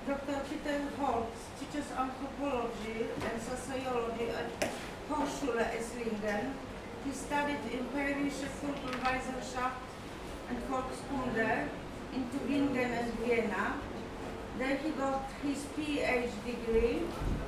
Dr. Peter Holtz teaches anthropology and sociology at Hochschule Esslingen. He studied Empirische Kulturwissenschaft and Volkskunde in Tübingen and Vienna. There he got his PhD degree.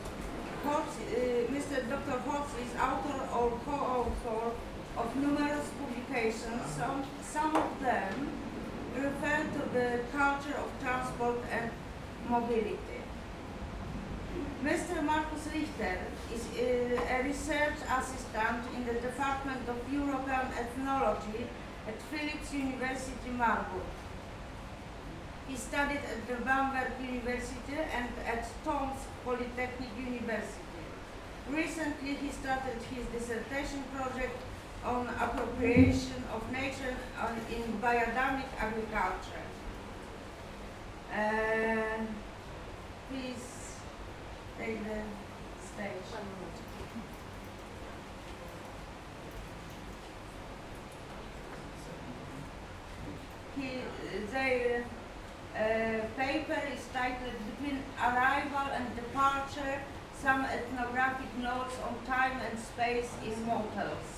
Mr. Dr. Holtz is author or co-author of numerous publications. Some of them refer to the culture of transport and mobility. Mr. Markus Richter is a research assistant in the Department of European Ethnology at Philipps University Marburg. He studied at the Bamberg University and at Tomsk Polytechnic University. Recently, he started his dissertation project on appropriation of nature in biodynamic agriculture. Please take the stage. Their paper is titled Between Arrival and Departure, Some Ethnographic Notes on Time and Space in Motels.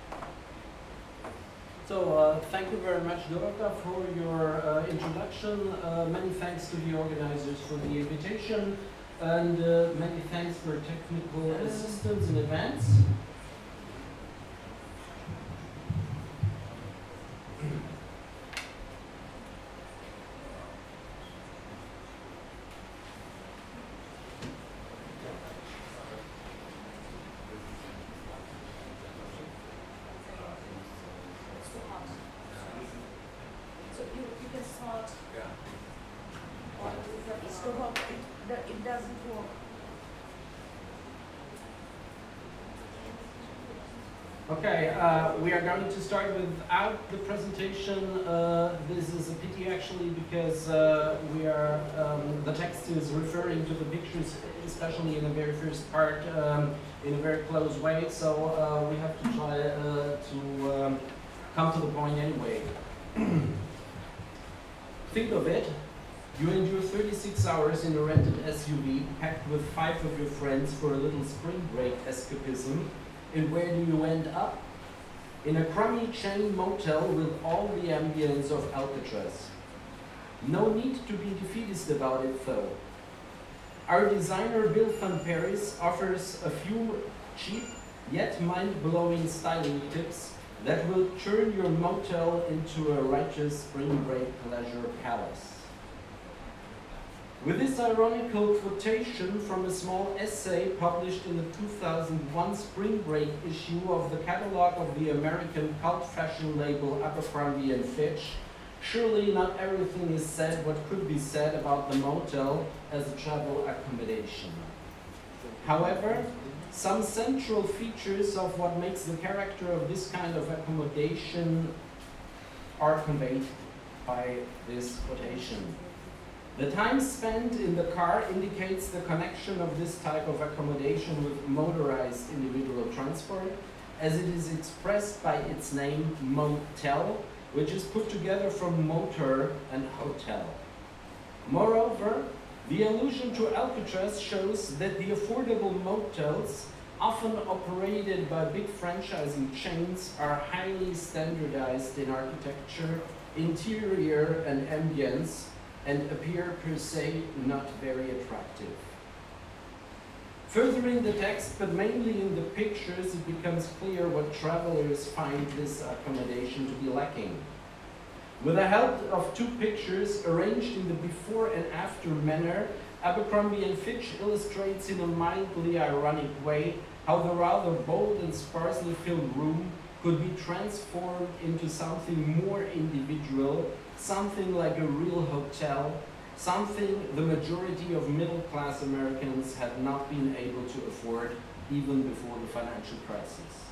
So thank you very much, Dorota, for your introduction. Many thanks to the organizers for the invitation, and many thanks for technical assistance in advance. It doesn't work. Okay, we are going to start without the presentation. This is a pity actually, because the text is referring to the pictures, especially in the very first part, in a very close way. So we have to try to come to the point anyway. Think of it. You endure 36 hours in a rented SUV, packed with 5 of your friends for a little spring break escapism. And where do you end up? In a crummy chain motel with all the ambience of Alcatraz. No need to be defeatist about it though. Our designer Bill van Paris offers a few cheap yet mind-blowing styling tips that will turn your motel into a righteous spring break pleasure palace. With this ironical quotation from a small essay published in the 2001 Spring Break issue of the catalog of the American cult fashion label Abercrombie & Fitch, surely not everything is said what could be said about the motel as a travel accommodation. However, some central features of what makes the character of this kind of accommodation are conveyed by this quotation. The time spent in the car indicates the connection of this type of accommodation with motorized individual transport, as it is expressed by its name motel, which is put together from motor and hotel. Moreover, the allusion to Alcatraz shows that the affordable motels, often operated by big franchising chains, are highly standardized in architecture, interior and ambience, and appear per se not very attractive. Furthering the text, but mainly in the pictures, it becomes clear what travelers find this accommodation to be lacking. With the help of 2 pictures arranged in the before and after manner, Abercrombie & Fitch illustrates in a mildly ironic way how the rather bold and sparsely filled room could be transformed into something more individual, something like a real hotel, something the majority of middle-class Americans had not been able to afford even before the financial crisis.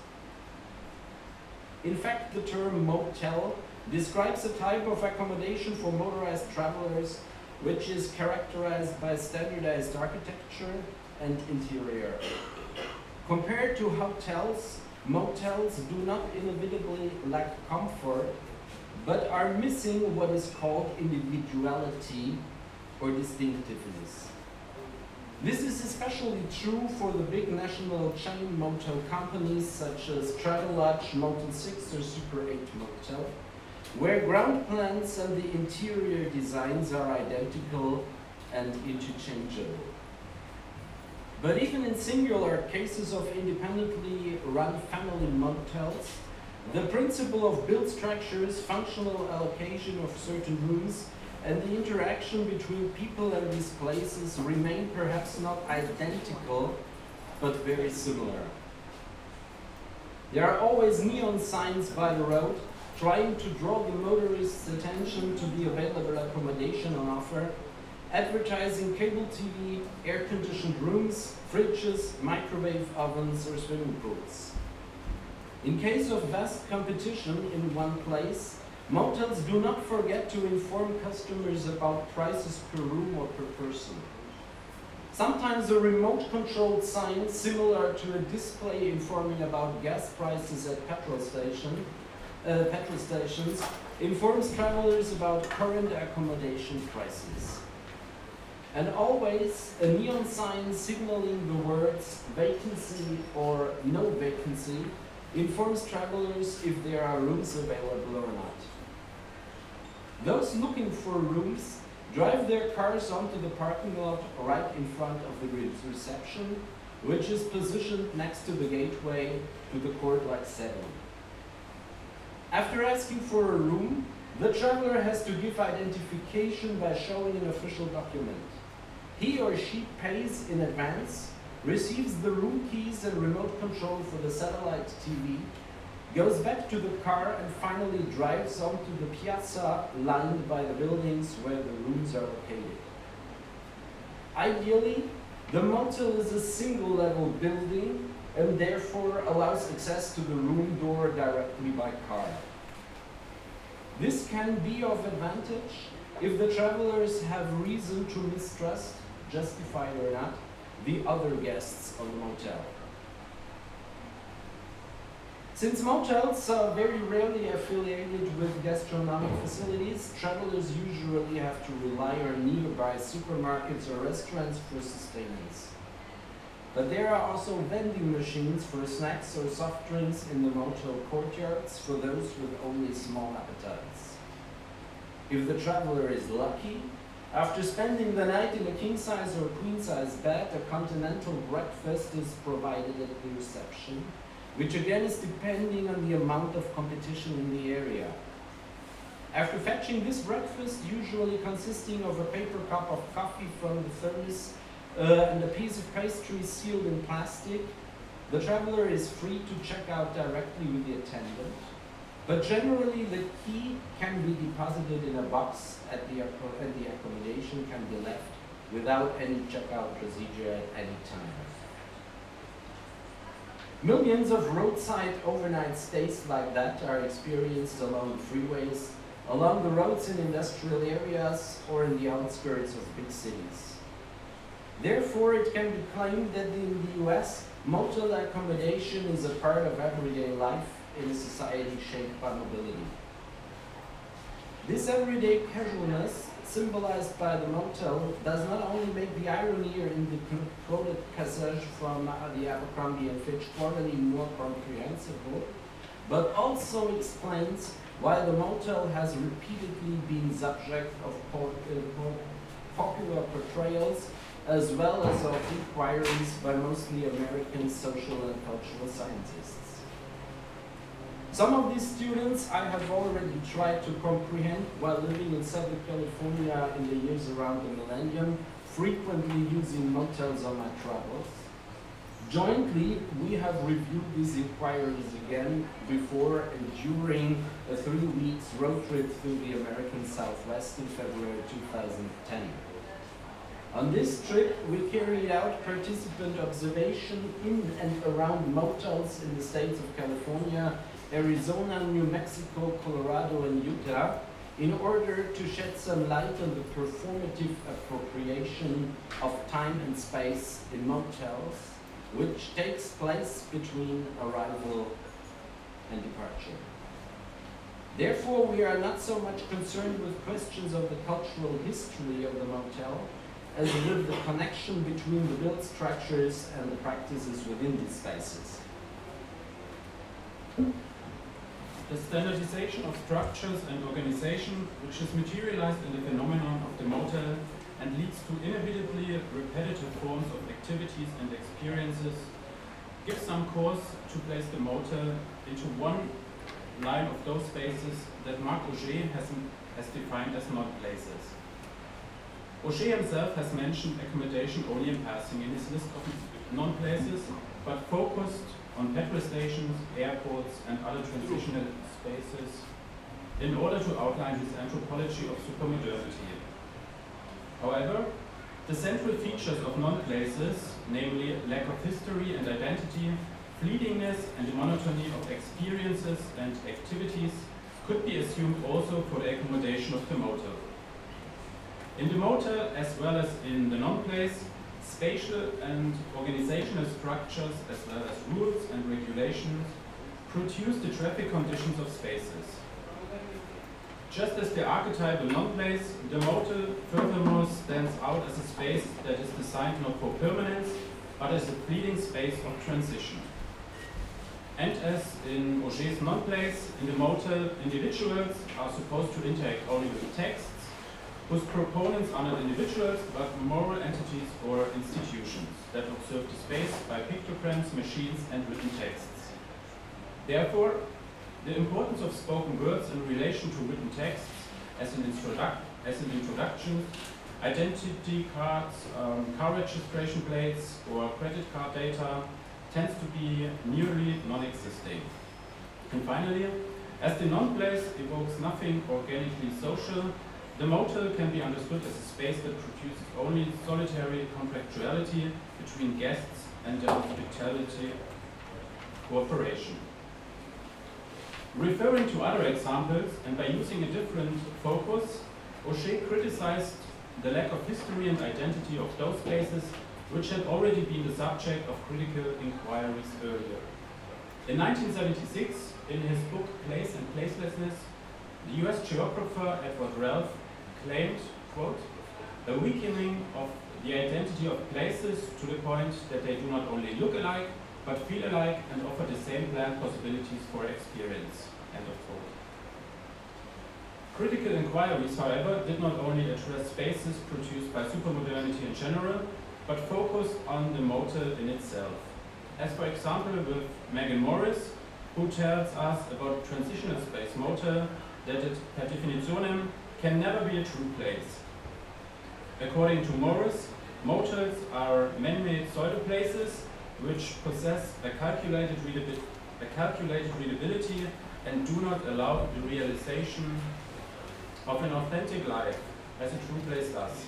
In fact, the term motel describes a type of accommodation for motorized travelers which is characterized by standardized architecture and interior. Compared to hotels, motels do not inevitably lack comfort, but are missing what is called individuality, or distinctiveness. This is especially true for the big national chain motel companies such as Travelodge, Motel 6 or Super 8 Motel, where ground plans and the interior designs are identical and interchangeable. But even in singular cases of independently run family motels, the principle of build structures, functional allocation of certain rooms, and the interaction between people and these places remain perhaps not identical, but very similar. There are always neon signs by the road trying to draw the motorist's attention to the available accommodation on offer, advertising cable TV, air-conditioned rooms, fridges, microwave ovens, or swimming pools. In case of vast competition in one place, motels do not forget to inform customers about prices per room or per person. Sometimes a remote-controlled sign similar to a display informing about gas prices at petrol stations informs travelers about current accommodation prices. And always a neon sign signaling the words vacancy or no vacancy informs travelers if there are rooms available or not. Those looking for rooms drive their cars onto the parking lot right in front of the reception, which is positioned next to the gateway to the court-like setting. After asking for a room, the traveler has to give identification by showing an official document. He or she pays in advance, receives the room keys and remote control for the satellite TV, goes back to the car and finally drives onto the piazza lined by the buildings where the rooms are located. Ideally, the motel is a single-level building and therefore allows access to the room door directly by car. This can be of advantage if the travelers have reason to mistrust, justified or not, the other guests of the motel. Since motels are very rarely affiliated with gastronomic facilities, travelers usually have to rely on nearby supermarkets or restaurants for sustenance. But there are also vending machines for snacks or soft drinks in the motel courtyards for those with only small appetites. If the traveler is lucky, after spending the night in a king-size or queen-size bed, a continental breakfast is provided at the reception, which again is depending on the amount of competition in the area. After fetching this breakfast, usually consisting of a paper cup of coffee from the thermos and a piece of pastry sealed in plastic, the traveler is free to check out directly with the attendant, but generally the key can be deposited in a box and the accommodation can be left without any checkout procedure at any time. Millions of roadside overnight stays like that are experienced along freeways, along the roads in industrial areas, or in the outskirts of big cities. Therefore, it can be claimed that in the US, motel accommodation is a part of everyday life in a society shaped by mobility. This everyday casualness, symbolized by the motel, does not only make the irony in the quoted passage from the Abercrombie & Fitch Quarterly more comprehensible, but also explains why the motel has repeatedly been subject of popular portrayals as well as of inquiries by mostly American social and cultural scientists. Some of these students I have already tried to comprehend while living in Southern California in the years around the millennium, frequently using motels on my travels. Jointly, we have reviewed these inquiries again before and during a 3 weeks road trip through the American Southwest in February 2010. On this trip, we carried out participant observation in and around motels in the states of California, Arizona, New Mexico, Colorado, and Utah, in order to shed some light on the performative appropriation of time and space in motels, which takes place between arrival and departure. Therefore, we are not so much concerned with questions of the cultural history of the motel as with the connection between the built structures and the practices within these spaces. The standardization of structures and organization, which is materialized in the phenomenon of the motel and leads to inevitably repetitive forms of activities and experiences, gives some cause to place the motel into one line of those spaces that Marc Auger has defined as non-places. Auger himself has mentioned accommodation only in passing in his list of non-places, but focused on petrol stations, airports, and other transitional spaces in order to outline his anthropology of supermodernity. However, the central features of non-places, namely lack of history and identity, fleetingness and the monotony of experiences and activities, could be assumed also for the accommodation of the motel. In the motel, as well as in the non-place, spatial and organizational structures, as well as rules and regulations, produce the traffic conditions of spaces. Just as the archetypal non-place, the motel furthermore stands out as a space that is designed not for permanence, but as a fleeting space of transition. And as in Auger's non-place, in the motel, individuals are supposed to interact only with texts, whose proponents are not individuals, but moral entities or institutions that observe the space by pictograms, machines, and written texts. Therefore, the importance of spoken words in relation to written texts as an introduction, identity cards, car registration plates, or credit card data tends to be nearly non-existing. And finally, as the non-place evokes nothing organically social, the motel can be understood as a space that produces only solitary contractuality between guests and their hospitality cooperation. Referring to other examples, and by using a different focus, Auger criticized the lack of history and identity of those spaces which had already been the subject of critical inquiries earlier. In 1976, in his book Place and Placelessness, the US geographer Edward Ralph claimed, quote, a weakening of the identity of places to the point that they do not only look alike, but feel alike and offer the same planned possibilities for experience, end of quote. Critical inquiries, however, did not only address spaces produced by supermodernity in general, but focused on the motel in itself. As for example with Megan Morris, who tells us about transitional space motel, that it per definitionem can never be a true place. According to Morris, motels are man-made pseudo-places which possess a calculated readability and do not allow the realization of an authentic life as a true place does.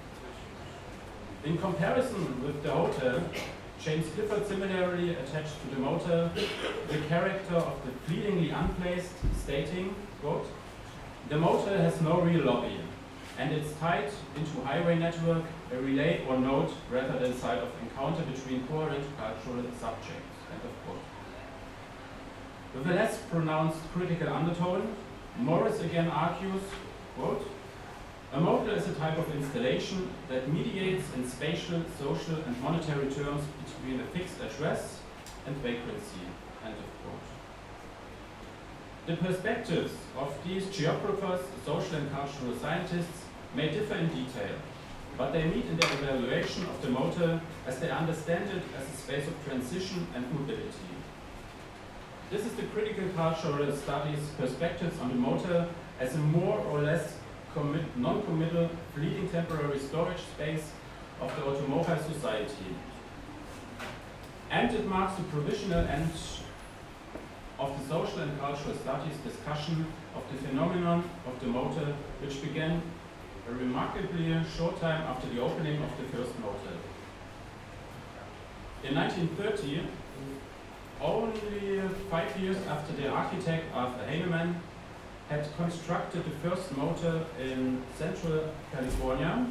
In comparison with the hotel, James Clifford similarly attached to the motel the character of the fleetingly unplaced, stating, quote, the motel has no real lobby, and it's tied into highway network, a relay or node rather than site of encounter between coherent cultural subjects, end of quote. With a less pronounced critical undertone, Morris again argues, quote, a motel is a type of installation that mediates in spatial, social, and monetary terms between a fixed address and vacancy, end of quote. The perspectives of these geographers, social and cultural scientists may differ in detail, but they meet in their evaluation of the motel as they understand it as a space of transition and mobility. This is the critical cultural studies perspectives on the motel as a more or less non-committal, fleeting temporary storage space of the automobile society. And it marks the provisional end of the social and cultural studies discussion of the phenomenon of the motel, which began a remarkably short time after the opening of the first motel. In 1930, only 5 years after the architect Arthur Heinemann had constructed the first motel in Central California,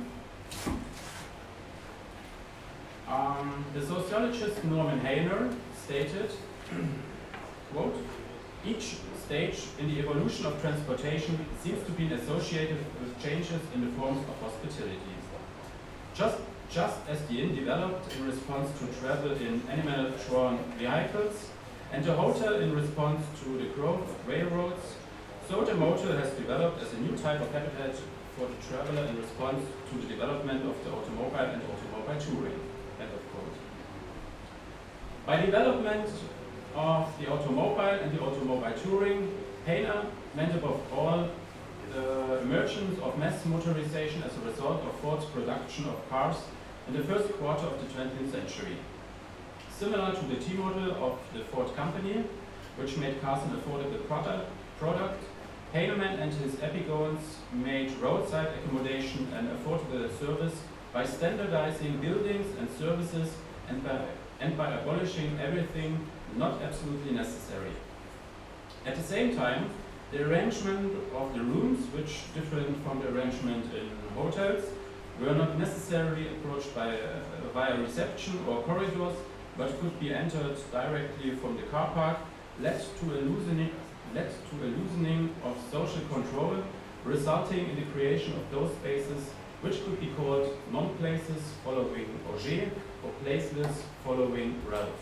the sociologist Norman Hainer stated, quote, Each stage in the evolution of transportation seems to be associated with changes in the forms of hospitality. Just as the inn developed in response to travel in animal-drawn vehicles, and the hotel in response to the growth of railroads, so the motel has developed as a new type of habitat for the traveler in response to the development of the automobile and automobile touring. End of quote. By development of the automobile and the automobile touring, Painer meant above all the emergence of mass motorization as a result of Ford's production of cars in the first quarter of the 20th century. Similar to the T-model of the Ford company, which made cars an affordable product, Heinemann and his epigones made roadside accommodation an affordable service by standardizing buildings and services and by abolishing everything not absolutely necessary. At the same time, the arrangement of the rooms, which different from the arrangement in hotels, were not necessarily approached via reception or corridors, but could be entered directly from the car park, led to a loosening of social control, resulting in the creation of those spaces which could be called non-places following Auger or placeless following Ralph.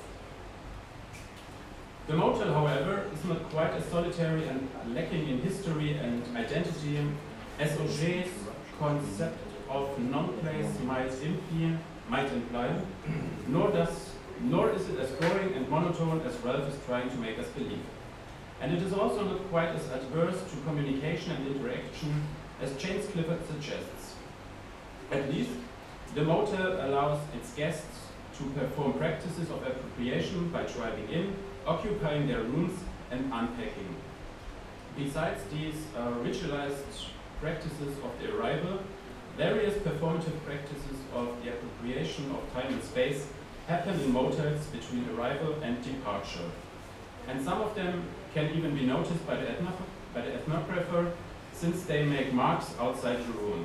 The motel, however, is not quite as solitary and lacking in history and identity as Auger's concept of non-place might imply, nor is it as boring and monotone as Ralph is trying to make us believe. And it is also not quite as adverse to communication and interaction as James Clifford suggests. At least, the motel allows its guests to perform practices of appropriation by driving in, occupying their rooms, and unpacking. Besides these ritualized practices of the arrival, various performative practices of the appropriation of time and space happen in motels between arrival and departure. And some of them can even be noticed by the ethnographer, since they make marks outside the room.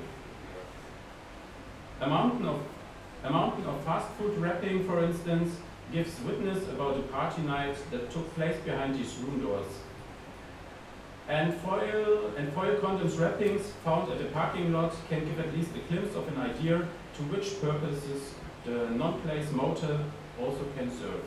A mountain of fast food wrapping, for instance, gives witness about a party night that took place behind these room doors. And foil condoms wrappings found at the parking lot can give at least a glimpse of an idea to which purposes the non-place motel also can serve.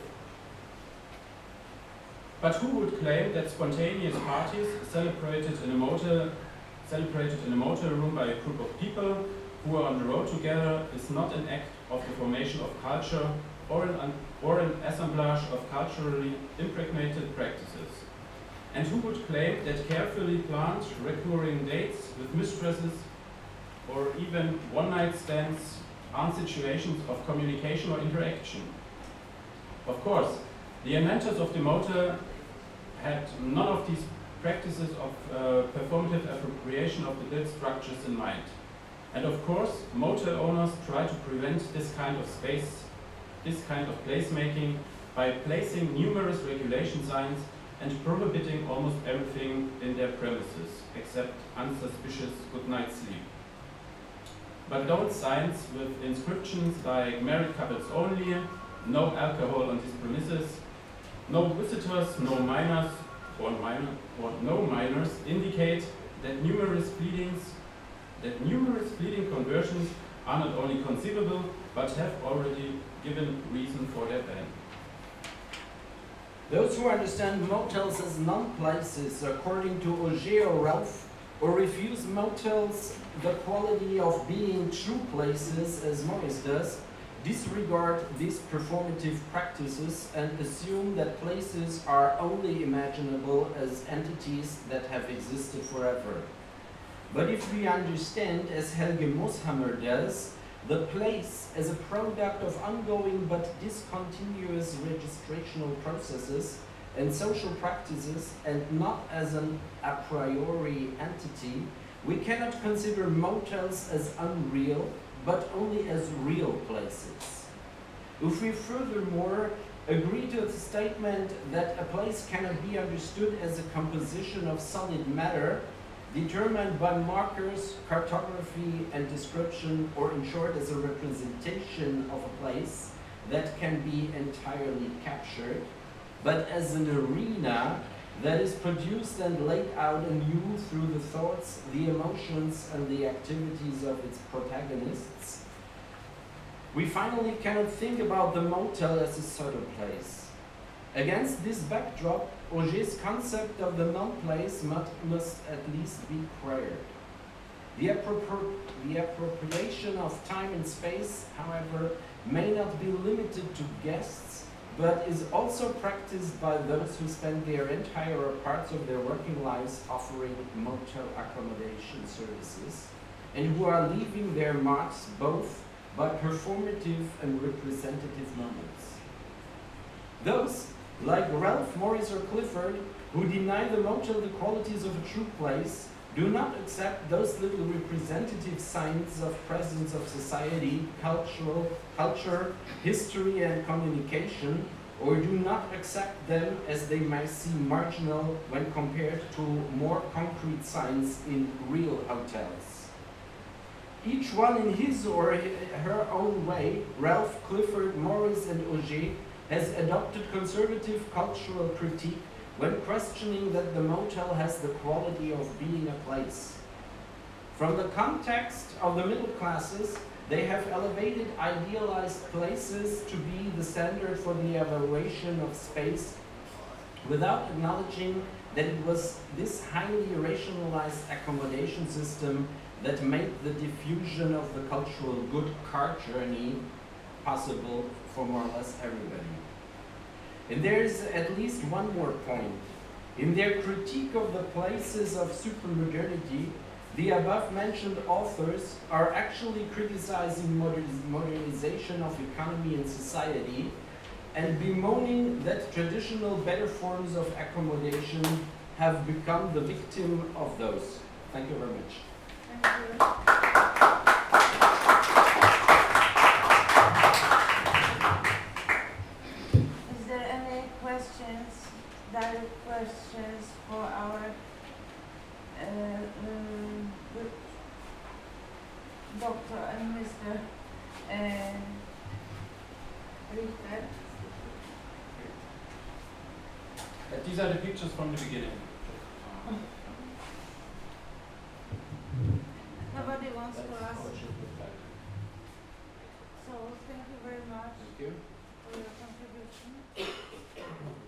But who would claim that spontaneous parties celebrated in a motel room by a group of people who are on the road together is not an act of the formation of culture or an assemblage of culturally impregnated practices? And who would claim that carefully planned recurring dates with mistresses or even one-night stands aren't situations of communication or interaction? Of course, the inventors of the motel had none of these practices of performative appropriation of the built structures in mind. And of course, motel owners try to prevent this kind of space, this kind of placemaking by placing numerous regulation signs and prohibiting almost everything in their premises, except unsuspicious good night sleep. But don't signs with inscriptions like married couples only, no alcohol on these premises, no visitors, no minors, or no minors indicate that numerous fleeting conversions are not only conceivable, but have already given reason for their ban. Those who understand motels as non-places, according to Auger or Ralph, or refuse motels the quality of being true places, as Morris does, disregard these performative practices and assume that places are only imaginable as entities that have existed forever. But if we understand, as Helge Moshammer does, the place as a product of ongoing but discontinuous registrational processes and social practices, and not as an a priori entity, we cannot consider motels as unreal, but only as real places. If we furthermore agree to the statement that a place cannot be understood as a composition of solid matter, determined by markers, cartography, and description, or in short, as a representation of a place that can be entirely captured, but as an arena that is produced and laid out anew through the thoughts, the emotions, and the activities of its protagonists, we finally cannot think about the motel as a sort of place. Against this backdrop, Auger's concept of the non-place must at least be queried. The appropriation of time and space, however, may not be limited to guests, but is also practiced by those who spend their entire or parts of their working lives offering motel accommodation services, and who are leaving their marks both by performative and representative moments. Those, like Ralph, Morris, or Clifford, who deny the motel the qualities of a true place, do not accept those little representative signs of presence of society, culture, history, and communication, or do not accept them as they might seem marginal when compared to more concrete signs in real hotels. Each one in his or her own way, Ralph, Clifford, Morris, and Auger, has adopted conservative cultural critique when questioning that the motel has the quality of being a place. From the context of the middle classes, they have elevated idealized places to be the standard for the evaluation of space without acknowledging that it was this highly rationalized accommodation system that made the diffusion of the cultural good car journey possible for more or less everybody. And there is at least one more point. In their critique of the places of supermodernity, the above-mentioned authors are actually criticizing modernization of economy and society and bemoaning that traditional better forms of accommodation have become the victim of those. Thank you very much. Thank you. Direct questions for our Dr. and Mr. Richter. These are the pictures from the beginning. Nobody wants to ask. So thank you very much Thank you. for your contribution.